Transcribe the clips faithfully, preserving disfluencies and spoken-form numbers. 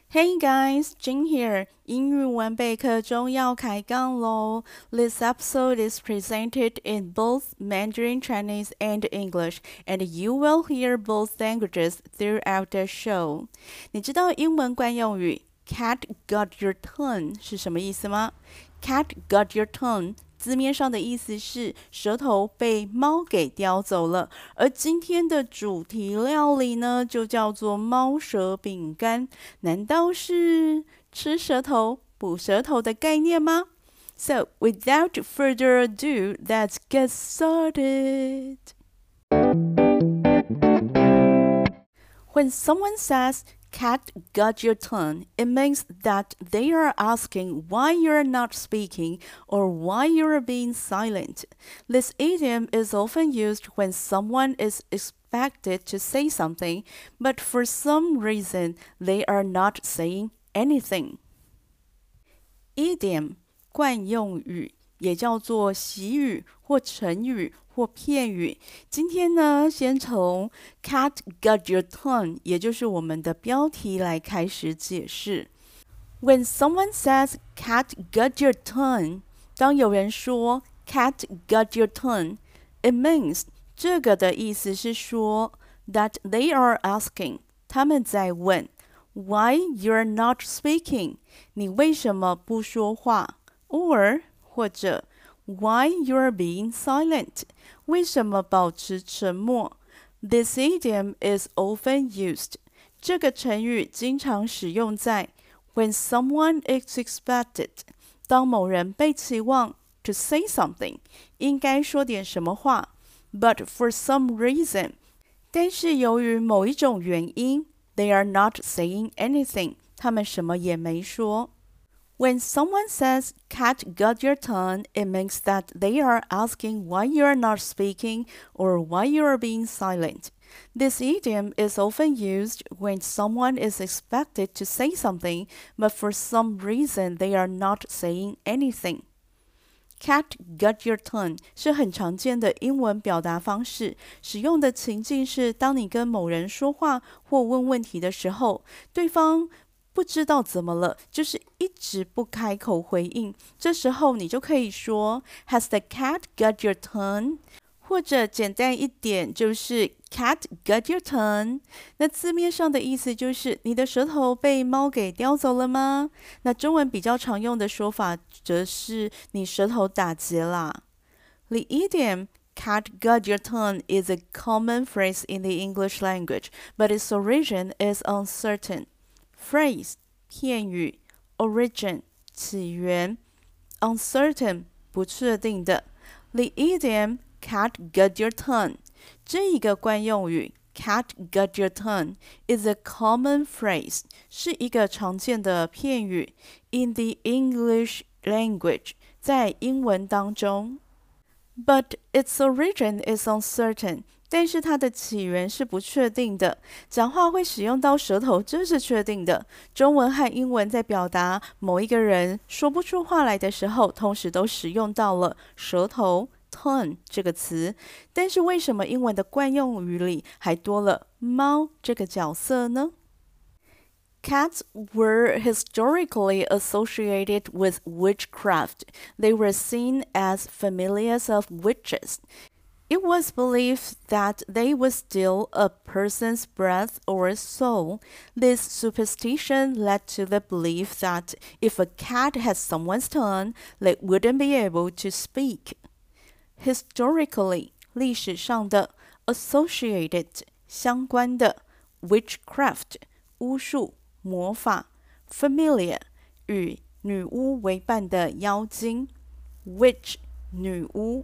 Hey guys, Jing here. 英語文備課中要開槓咯。This episode is presented in both Mandarin Chinese and English, and you will hear both languages throughout the show. 你知道英文慣用語 Cat got your tongue 是什麼意思嗎？ Cat got your tongue字面上的意思是舌頭被貓給叼走了，而今天的主題料理呢，就叫做貓舌餅乾。難道是吃舌頭、補舌頭的概念嗎？ So, without further ado, let's get started. When someone says, Cat got your tongue, it means that they are asking why you're not speaking or why you're being silent. This idiom is often used when someone is expected to say something, but for some reason they are not saying anything. Idiom 慣用語也叫做習語或成語或片語。今天呢，先從 Cat got your tongue， 也就是我們的標題來開始解釋。When someone says Cat got your tongue， 當有人說 Cat got your tongue， it means 這個的意思是說 that they are asking， 他們在問 why you're not speaking， 你為什麼不說話 or或者 Why you're being silent? 為什麼保持沉默 ？This idiom is often used. 這個成語經常使用在 when someone is expected. 當某人被期望 to say something， 應該說點什麼話 ，but for some reason， 但是由於某一種原因 ，they are not saying anything. 他們什麼也沒說。When someone says, Cat got your tongue, it means that they are asking why you are not speaking or why you are being silent. This idiom is often used when someone is expected to say something, but for some reason they are not saying anything. Cat got your tongue 是很常見的英文表達方式，使用的情境是當你跟某人說話或問問題的時候，對方不知道怎麼了，就是一直不開口回應。這時候你就可以說 Has the cat got your tongue？ 或者簡單一點就是 Cat got your tongue？ 那字面上的意思就是你的舌頭被貓給叼走了嗎？那中文比較常用的說法則是你舌頭打結啦。The idiom Cat got your tongue is a common phrase in the English language, but its origin is uncertain.Phrase 片語 origin 起源 uncertain 不確定的 The idiom cat got your tongue 這一個慣用語 cat got your tongue is a common phrase 是一個常見的片語 in the English language 在英文當中 But its origin is uncertain但是它的起源是不確定的，講話會使用到舌頭，這是確定的。中文和英文在表達某一個人說不出話來的時候，同時都使用到了舌頭 tongue 這個詞。但是為什麼英文的慣用語裡還多了貓這個角色呢？ Cats were historically associated with witchcraft. They were seen as familiars of witches.It was believed that they would steal a person's breath or soul. This superstition led to the belief that if a cat had someone's tongue, they wouldn't be able to speak. Historically, 歷史上的 associated 相關的 witchcraft 巫術魔法 familiar 與女巫為伴的妖精 witch 女巫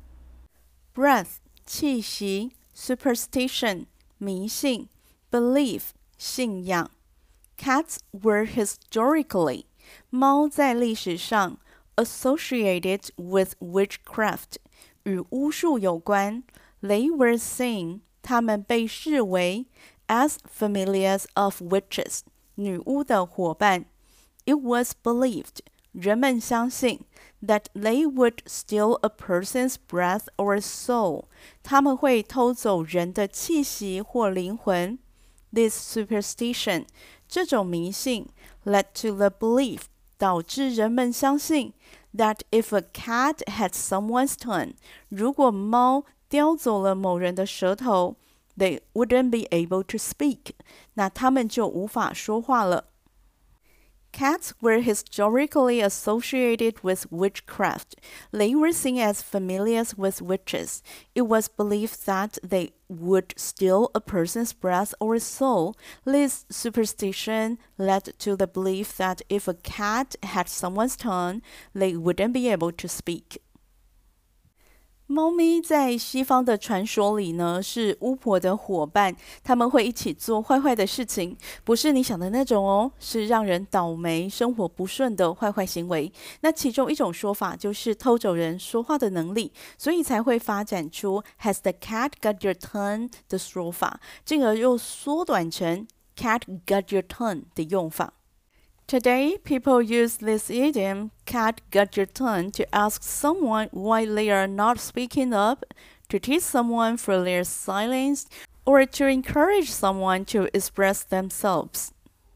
Breath 氣息 Superstition 迷信 Belief 信仰 Cats were historically 貓在歷史上 associated with witchcraft 與巫術有關 They were seen 他們被視為 as familiars of witches 女巫的夥伴 It was believed人們相信 that they would steal a person's breath or soul. 他們會偷走人的氣息或靈魂。This superstition, 這種迷信 led to the belief 導致人們相信 that if a cat had someone's tongue 如果貓叼走了某人的舌頭 they wouldn't be able to speak 那他們就無法說話了。Cats were historically associated with witchcraft. They were seen as familiars with witches. It was believed that they would steal a person's breath or soul. This superstition led to the belief that if a cat had someone's tongue, they wouldn't be able to speak. 貓咪在西方的傳說裡呢，是巫婆的夥伴，他們會一起做壞壞的事情，不是你想的那種哦，是讓人倒霉、生活不順的壞壞行為。那其中一種說法就是偷走人說話的能力，所以才會發展出 Has the cat got your tongue 的說法，進而又縮短成 Cat got your tongue 的用法。Today, people use this idiom, cat got your tongue, to ask someone why they are not speaking up, to tease someone for their silence, or to encourage someone to express themselves.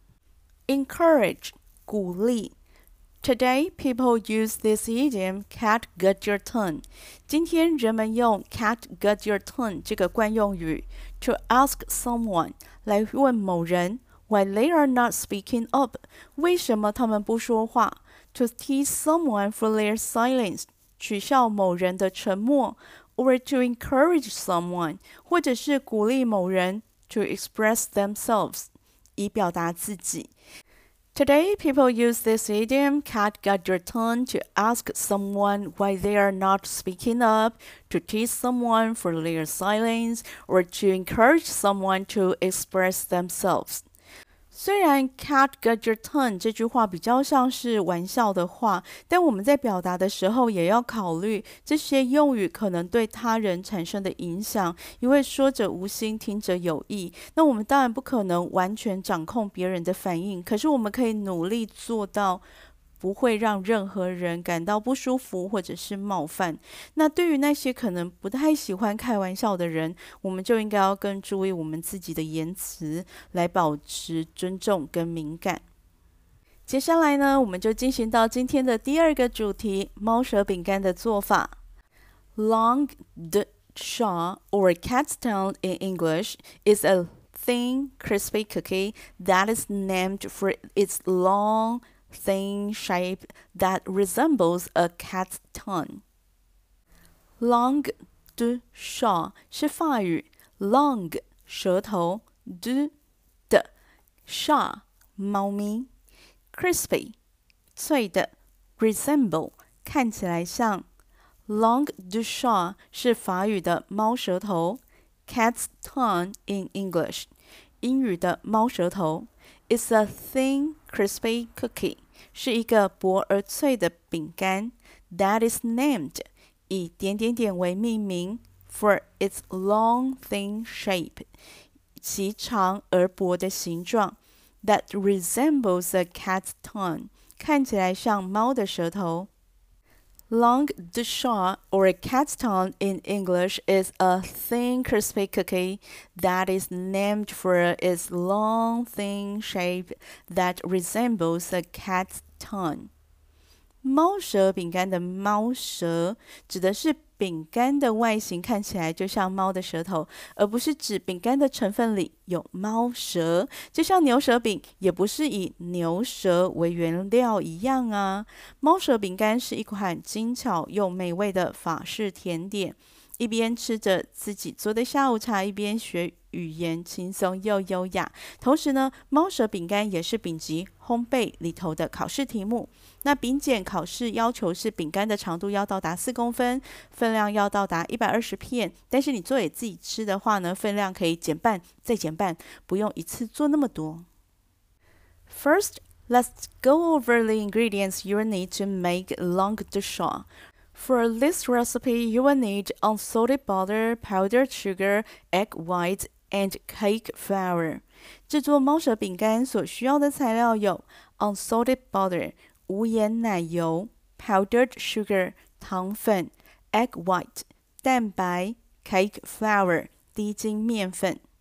Encourage, 鼓勵。Today, people use this idiom, cat got your tongue. 今天人們用 cat got your tongue 這個慣用語 to ask someone 來問某人Why they are not speaking up? 為什麼他們不說話 ？To tease someone for their silence. 取笑某人的沉默 ，or to encourage someone. 或者是鼓勵某人 to express themselves. 以表達自己。Today, people use this idiom, cat got your tongue, to ask someone why they are not speaking up, to tease someone for their silence, or to encourage someone to express themselves. 虽然 cat got your tongue 這句話比較像是玩笑的話，但我們在表達的時候也要考慮這些用語可能對他人產生的影響，因為說者無心，聽者有意。那我們當然不可能完全掌控別人的反應，可是我們可以努力做到不會讓任何人感到不舒服或者是冒犯。那對於那些可能不太喜歡開玩笑的人，我們就應該要更注意我們自己的言辭，來保持尊重跟敏感。接下來呢，我們就進行到今天的第二個主題，貓舌餅乾的做法。Langue de chat, or cat's tongue in English, is a thin, crispy cookie that is named for its long thin shape that resembles a cat's tongue. Langue de chat 是法語 langue 舌頭 de 的 chat 貓咪 crispy 脆的 resemble 看起來像 Langue de chat 是法語的貓舌頭 cat's tongue in English 英語的貓舌頭It's a thin, crispy cookie. 是一個薄而脆的餅乾 that is named 以點點點為命名 for its long, thin shape 其長而薄的形狀 that resembles a cat's tongue 看起來像貓的舌頭。Langue de chat, or a cat's tongue in English, is a thin, crispy cookie that is named for its long, thin shape that resembles a cat's tongue. 貓舌餅乾的貓舌指的是餅乾的外形看起來就像貓的舌頭，而不是指餅乾的成分裡有貓舌，就像牛舌餅也不是以牛舌為原料一樣啊。貓舌餅乾是一款精巧又美味的法式甜點，一邊吃着自己做的下午茶，一邊學語言，輕鬆又優雅。同時呢，貓舌餅乾也是丙級烘焙裡頭的考試題目。那丙檢考試要求是餅乾的長度要到達四公分，分量要到達一百二十片。但是你做給自己吃的話呢，分量可以減半，再減半，不用一次做那麼多。First, let's go over the ingredients you will need to make langue de chat. For this recipe, you will need unsalted butter, powdered sugar, egg white, and cake flour. 製作貓舌餅乾所需要的材料有 unsalted butter 無鹽奶油 powdered sugar 糖粉 egg white 蛋白 cake flour 低筋麵粉。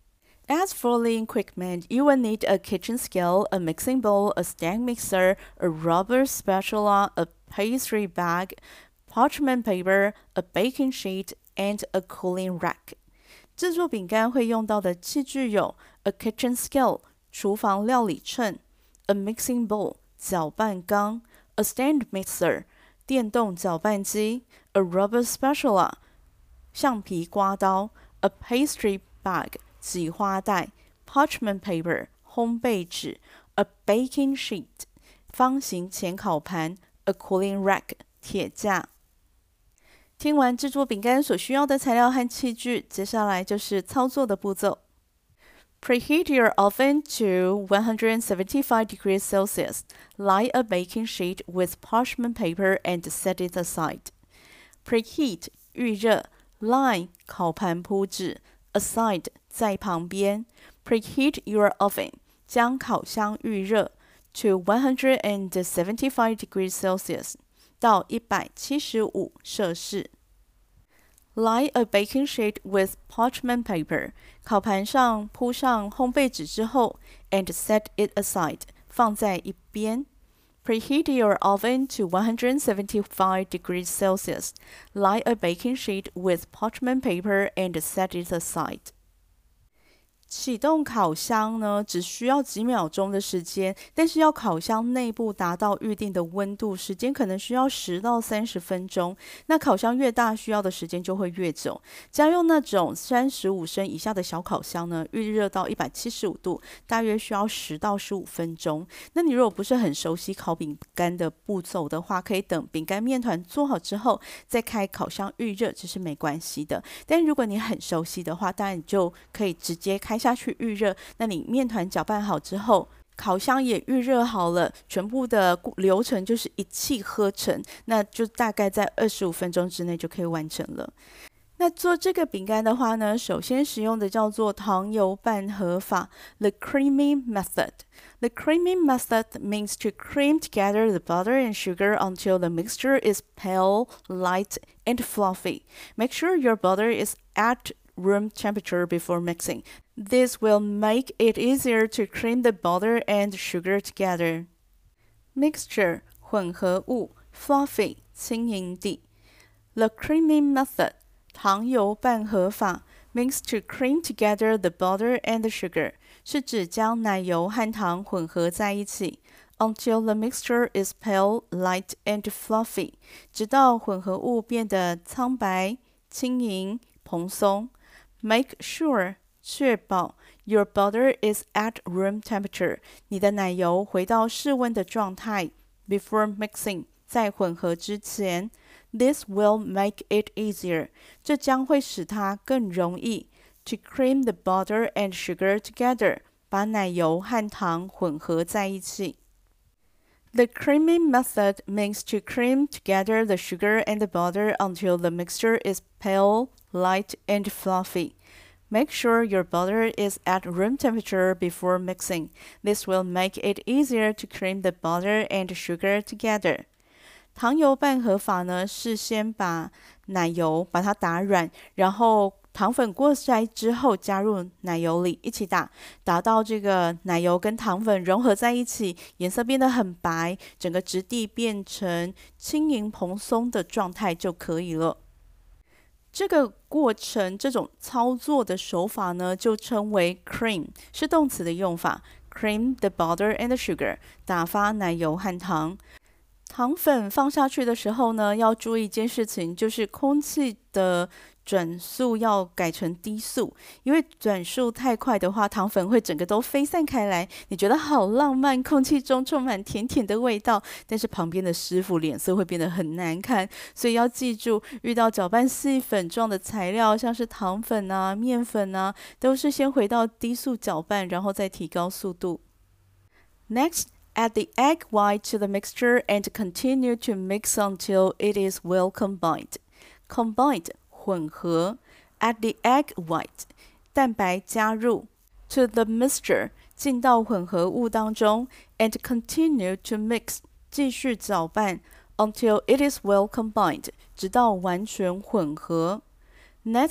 As for the equipment, you will need a kitchen scale, a mixing bowl, a stand mixer, a rubber spatula, a pastry bag, parchment paper, a baking sheet, and a cooling rack. 制作餅乾會用到的器具有 a kitchen scale 廚房料理秤 a mixing bowl 攪拌缸 a stand mixer 電動攪拌機 a rubber spatula 橡皮刮刀 a pastry bag 擠花袋 parchment paper 烘焙紙 a baking sheet 方形淺烤盤 a cooling rack 鐵架。聽完製作餅乾所需要的材料和器具，接下來就是操作的步驟。Preheat your oven to one hundred seventy-five degrees Celsius. Line a baking sheet with parchment paper and set it aside. Preheat 預熱 Line 烤盤鋪紙 Aside 在旁邊 Preheat your oven 將烤箱預熱 to one hundred seventy-five degrees Celsius 到一百七十五攝氏。Line a baking sheet with parchment paper. 烤盤上鋪上烘焙紙之後 and set it aside. 放在一邊。Preheat your oven to one hundred seventy-five degrees Celsius. Line a baking sheet with parchment paper and set it aside. 啟動烤箱呢，只需要幾秒鐘的時間，但是要烤箱內部達到預定的溫度，時間可能需要十到三十分鐘。那烤箱越大，需要的時間就會越久。家用那種三十五升以下的小烤箱呢，預熱到一百七十五度，大約需要十到十五分鐘。那你如果不是很熟悉烤餅乾的步驟的話，可以等餅乾麵團做好之後，再開烤箱預熱，這是沒關係的。但如果你很熟悉的話，當然你就可以直接開下去預熱，那你麵團攪拌好之後，烤箱也預熱好了，全部的流程就是一氣呵成，那就大概在二十五分鐘之內就可以完成了。那做這個餅乾的話呢，首先使用的叫做糖油拌合法 The creamy method. The creamy method means to cream together the butter and sugar until the mixture is pale, light, and fluffy. Make sure your butter is at room temperature before mixing. This will make it easier to cream the butter and sugar together. Mixture 混合物 Fluffy 輕盈地 The creamy method 糖油拌合法 means to cream together the butter and the sugar 是指將奶油和糖混合在一起 until the mixture is pale, light, and fluffy 直到混合物變得蒼白、輕盈、蓬鬆Make sure 確保 your butter is at room temperature. 你的奶油回到室溫的狀態 before mixing. 在混合之前 This will make it easier. 這將會使它更容易 to cream the butter and sugar together. 把奶油和糖混合在一起。The creamy method means to cream together the sugar and the butter until the mixture is pale, light, and fluffy. Make sure your butter is at room temperature before mixing. This will make it easier to cream the butter and sugar together. 糖油拌合法呢，是先把奶油把它打軟，然後糖粉過篩之後加入奶油裡一起打，打到這個奶油跟糖粉融合在一起，顏色變得很白，整個質地變成輕盈蓬鬆的狀態就可以了。這個過程，這種操作的手法呢，就稱為 cream， 是動詞的用法。Cream the butter and the sugar， 打發奶油和糖。糖粉放下去的時候呢，要注意一件事情，就是空氣的轉速要改成低速，因為轉速太快的話，糖粉會整個都飛散開來。你覺得好浪漫，空氣中充滿甜甜的味道，但是旁邊的師傅臉色會變得很難看。所以要記住，遇到攪拌細粉狀的材料，像是糖粉啊、麵粉啊，都是先回到低速攪拌，然後再提高速度。Next.Add the egg white to the mixture and continue to mix until it is well combined. Combined 混合 Add the egg white 蛋白加入 to the mixture 進到混合物當中 and continue to mix 繼續攪拌 until it is well combined 直到完全混合。Next,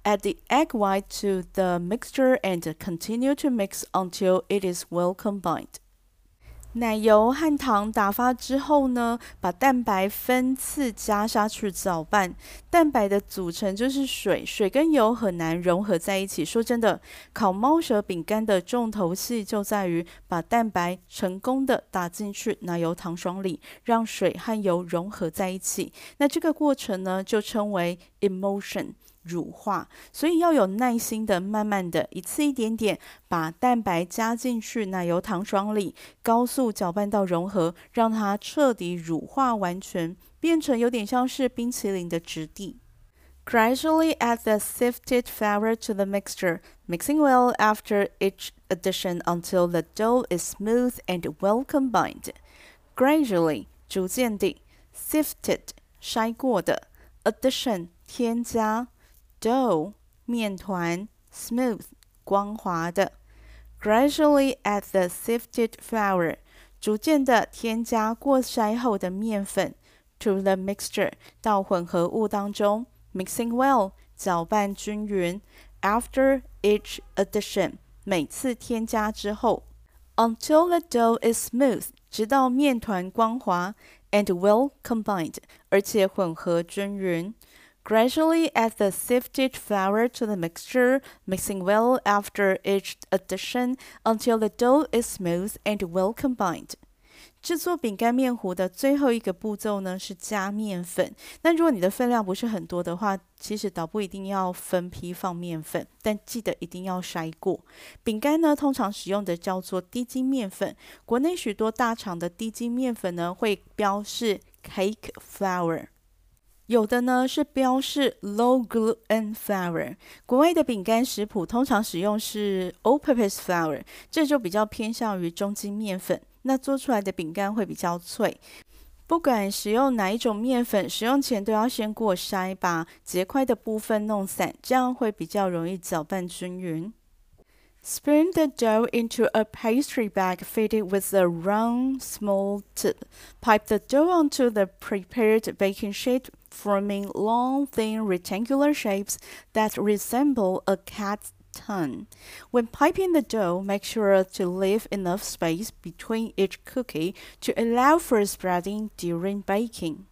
Add the egg white to the mixture and continue to mix until it is well combined. 奶油和糖打發之後呢，把蛋白分次加下去攪拌。蛋白的組成就是水，水跟油很難融合在一起。說真的，烤貓舌餅乾的重頭戲就在於把蛋白成功的打進去奶油糖霜裡，讓水和油融合在一起。那這個過程呢，就稱為 emulsion。乳化，所以要有耐心的，慢慢的，一次一點點，把蛋白加進去奶油糖霜裡，高速攪拌到融合，讓它徹底乳化完全，變成有點像是冰淇淋的質地。Gradually add the sifted flour to the mixture, mixing well after each addition until the dough is smooth and well combined. Gradually 逐漸地 sifted 篩過的 addition 添加dough 麵團 smooth 光滑的 Gradually add the sifted flour 逐漸的添加過篩後的麵粉 to the mixture 到混合物當中 mixing well 攪拌均勻 after each addition 每次添加之後 until the dough is smooth 直到麵團光滑 and well combined 而且混合均勻Gradually add the sifted flour to the mixture, mixing well after each addition until the dough is smooth and well combined. 製作餅乾麵糊的最後一個步驟呢是加麵粉。那如果你的分量不是很多的話，其實倒不一定要分批放麵粉，但記得一定要篩過。餅乾呢通常使用的叫做低筋麵粉，國內許多大廠的低筋麵粉呢會標示 cake flour。有的呢是標示 low gluten flour， 國外的餅乾食譜通常使用是 all-purpose flour， 這就比較偏向於中筋麵粉，那做出來的餅乾會比較脆。不管使用哪一種麵粉，使用前都要先過篩，把結塊的部分弄散，這樣會比較容易攪拌均勻。Spoon the dough into a pastry bag fitted with a round, small tip. Pipe the dough onto the prepared baking sheet, forming long, thin, rectangular shapes that resemble a cat's tongue. When piping the dough, make sure to leave enough space between each cookie to allow for spreading during baking.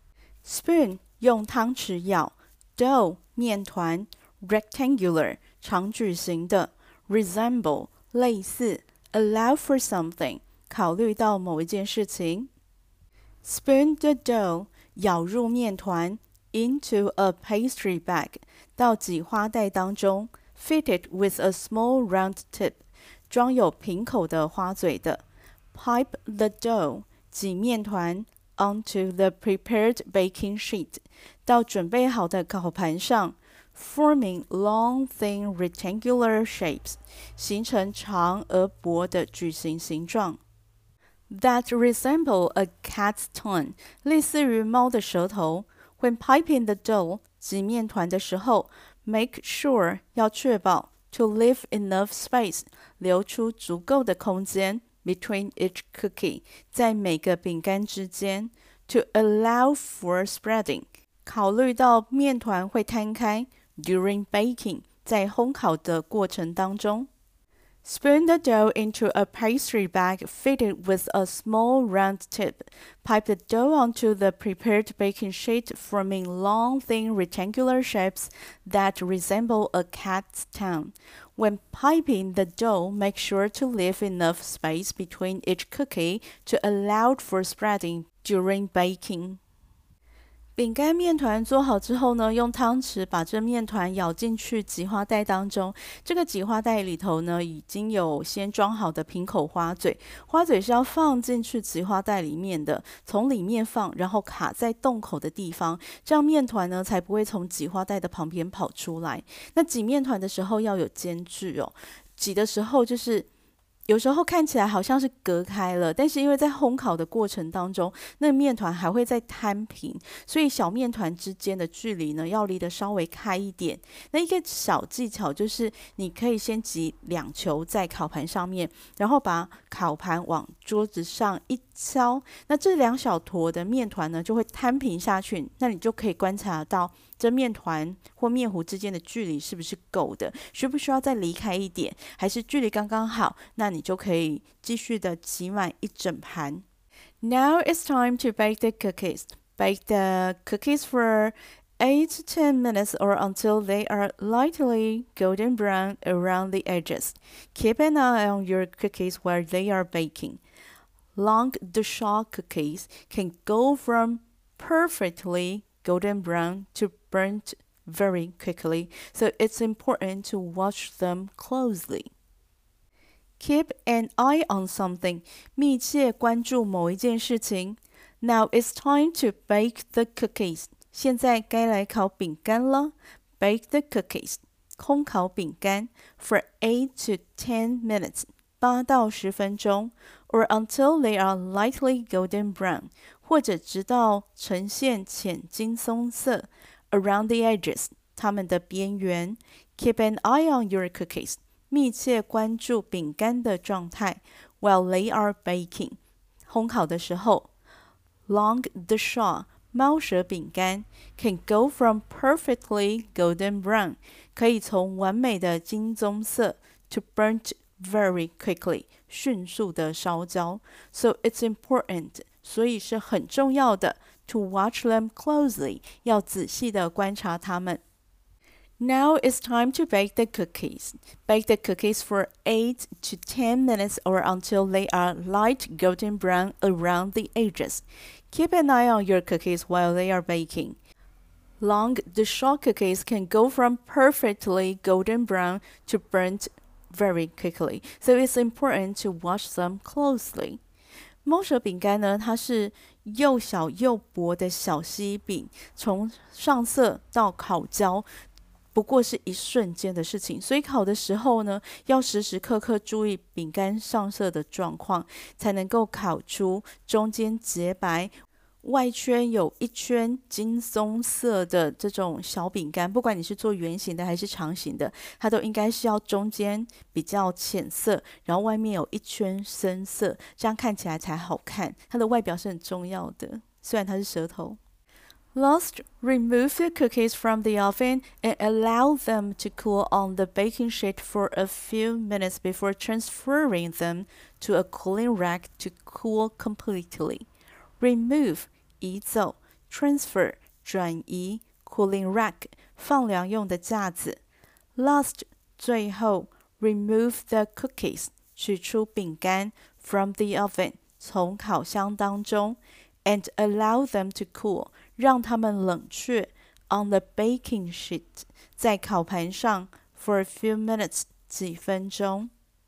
Spoon 用湯匙舀 dough 麵團 rectangular 長矩形的Resemble 類似 Allow for something 考慮到某一件事情 Spoon the dough 舀入麵團 Into a pastry bag 到擠花袋當中 Fitted with a small round tip 裝有平口的花嘴的 Pipe the dough 擠麵團 Onto the prepared baking sheet 到準備好的烤盤上forming long, thin, rectangular shapes, 形成長而薄的矩形形狀。That resemble a cat's tongue, 類似於貓的舌頭。When piping the dough, 擠麵團的時候 make sure 要確保 to leave enough space, 留出足夠的空間 between each cookie, 在每個餅乾之間 to allow for spreading, 考慮到麵團會攤開During baking, 在烘烤的過程當中 Spoon the dough into a pastry bag fitted with a small round tip. Pipe the dough onto the prepared baking sheet, forming long, thin, rectangular shapes that resemble a cat's tongue. When piping the dough, make sure to leave enough space between each cookie to allow for spreading during baking.餅乾麵團做好之後呢，用湯匙把這麵團舀進去擠花袋當中。這個擠花袋裡頭呢，已經有先裝好的平口花嘴，花嘴是要放進去擠花袋裡面的，從裡面放，然後卡在洞口的地方，這樣麵團呢才不會從擠花袋的旁邊跑出來。那擠麵團的時候要有間距哦，擠的時候就是有時候看起來好像是隔開了，但是因為在烘烤的過程當中，那個麵團還會再攤平，所以小麵團之間的距離呢，要離得稍微開一點。那一個小技巧就是，你可以先擠兩球在烤盤上面，然後把烤盤往桌子上一敲，那這兩小坨的麵團呢，就會攤平下去。那你就可以觀察到這麵團或麵糊之間的距離是不是夠的，需不需要再離開一點，還是距離剛剛好？那你就可以繼續的擠滿一整盤。Now it's time to bake the cookies. Bake the cookies for eight to ten minutes or until they are lightly golden brown around the edges. Keep an eye on your cookies while they are baking. Long dishcloth cookies can go from perfectly golden brown to burnt very quickly, so it's important to watch them closely. Keep an eye on something. 密切關注某一件事情。Now it's time to bake the cookies. 現在該來烤餅乾了。Bake the cookies. 烘烤餅乾 for eight to ten minutes. 八到十分鐘。Or until they are lightly golden brown. 或者直到呈現淺金棕色。Around the edges. 它們的邊緣。Keep an eye on your cookies. 密切關注餅乾的狀態 while they are baking. 烘烤的時候 Long dishcloth 貓舌餅乾 can go from perfectly golden brown 可以從完美的金棕色 to burnt very quickly 迅速的燒焦 So it's important 所以是很重要的 to watch them closely 要仔細的觀察它們。Now it's time to bake the cookies. Bake the cookies for eight to ten minutes or until they are light golden brown around the edges. Keep an eye on your cookies while they are baking. Long dishcloth cookies can go from perfectly golden brown to burnt very quickly, so it's important to watch them closely. 猫舌餅乾呢，它是又小又薄的小西餅，從上色到烤焦不過是一瞬間的事情，所以烤的時候呢，要時時刻刻注意餅乾上色的狀況，才能夠烤出中間潔白、外圈有一圈金棕色的這種小餅乾。不管你是做圓形的還是長形的，它都應該是要中間比較淺色，然後外面有一圈深色，這樣看起來才好看。它的外表是很重要的，雖然它是舌頭。Last, remove the cookies from the oven and allow them to cool on the baking sheet for a few minutes before transferring them to a cooling rack to cool completely. Remove, 移走 transfer, 轉移 cooling rack, 放涼用的架子 Last, 最後 remove the cookies, 取出餅乾 from the oven, 從烤箱當中and allow them to cool, 讓它們冷卻 on the baking sheet, 在烤盤上 for a few minutes, 幾分鐘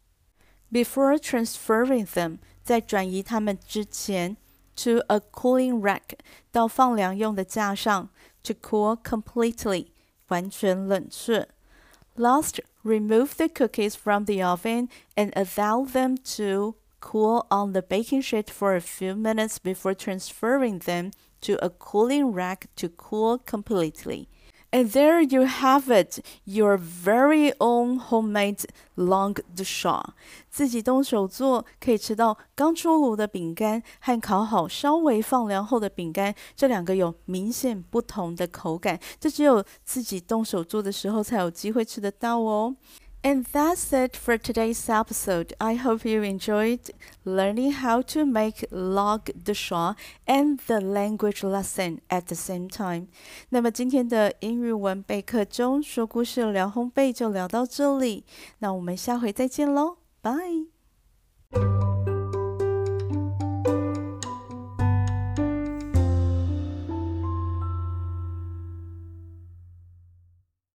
Before transferring them, 在轉移它們之前 to a cooling rack, 到放涼用的架上 to cool completely, 完全冷卻 Last, remove the cookies from the oven and allow them to cool on the baking sheet for a few minutes before transferring them to a cooling rack to cool completely. And there you have it, your very own homemade langue de chat. 自己動手做，可以吃到剛出爐的餅乾和烤好稍微放涼後的餅乾，這兩個有明顯不同的口感，這只有自己動手做的時候才有機會吃得到哦。And that's it for today's episode. I hope you enjoyed learning how to make langue de chat and the language lesson at the same time. 那麼今天的英語文備課中說故事聊烘焙就聊到這裡，那我們下回再見嘍，拜。